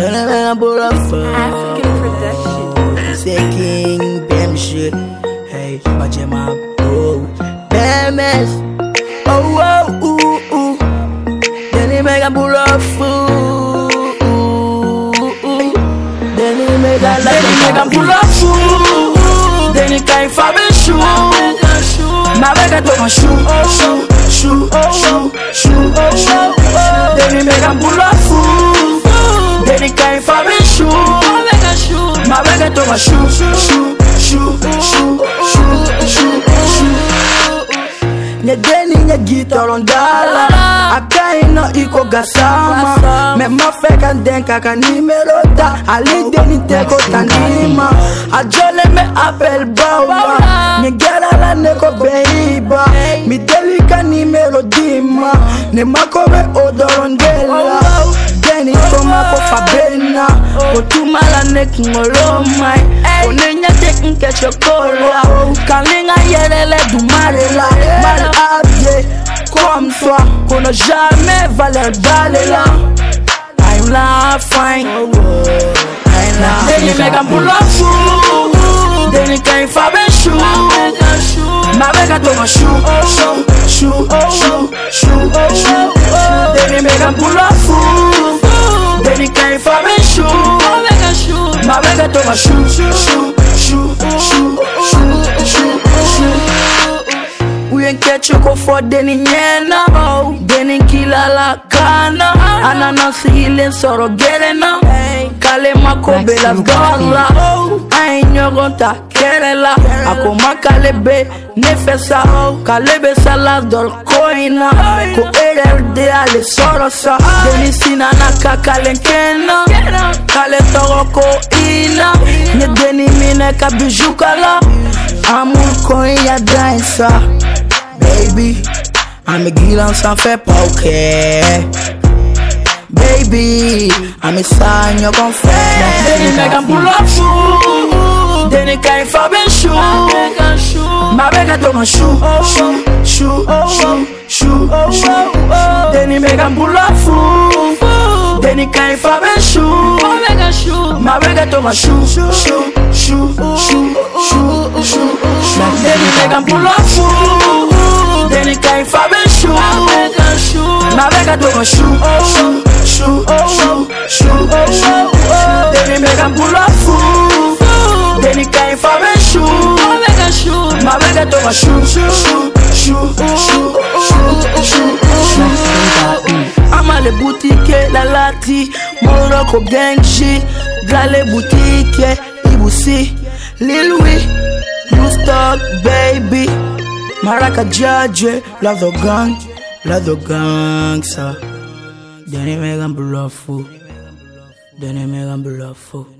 African production. Say King Bam shit. Hey, watch him up. Oh, BMS. Oh, oh, ooh, ooh. Then he make a pull up fool. Then he make a pull up fool. Then he can't find a shoe. My bag I took my shoe. Then he make a pull up fool. Then he can't find a shoe. My bag I took my shoe. Nye deni nye guitar on dala Akai no iko gasama Me mafeka denka ka nimero da Ali deni teko tanima Ajole me apel bawa Nye gera la neko beiba Mi delika nimero dima Ne makobe odorondela Deni koma ko fabena Otuma la nek ngolomai Onenya tek nke chokola Kalinga yerele du marela Mal habillé comme toi Qu'on n'a jamais valeur d'aller là I'm la fine I'm la Then you make a pull up fool Then you can't find a shoe My bag I took my shoe Then you make a pull up fool Then you can't find a shoe My bag I took my shoe Uyenke choko for deni nyena Deni kila la kana Ananasi hile soro gerena Kale makobe las gala Ainyo gonta kerela Ako makalebe nefesa Kalebe salas dol koina Ko ererde ale sorosa Deni sinana kakalenkena Kale toro ko ina Nye deni mine ka bijukala Amour koin ya dansa Baby, I'm a gilan sans faire pas ok Baby, I'm a sign you're gon' fail Then you make a pull up fool Then you can't find a shoe My bag I took my shoe Then you make a pull up fool Then you can't find a shoe My bag I took my shoe Then you make a pull up fool Then you can't find a shoe My bag I took my shoe Then you make a pull up fool Then you can't find a shoe My bag I took my shoe Ama le boutique la lati Morocco Genji Gale boutique Ibusi Lil Louis You stuck baby Maraka Judge Love the gangster Deni megan bluffo Deni megan bluffo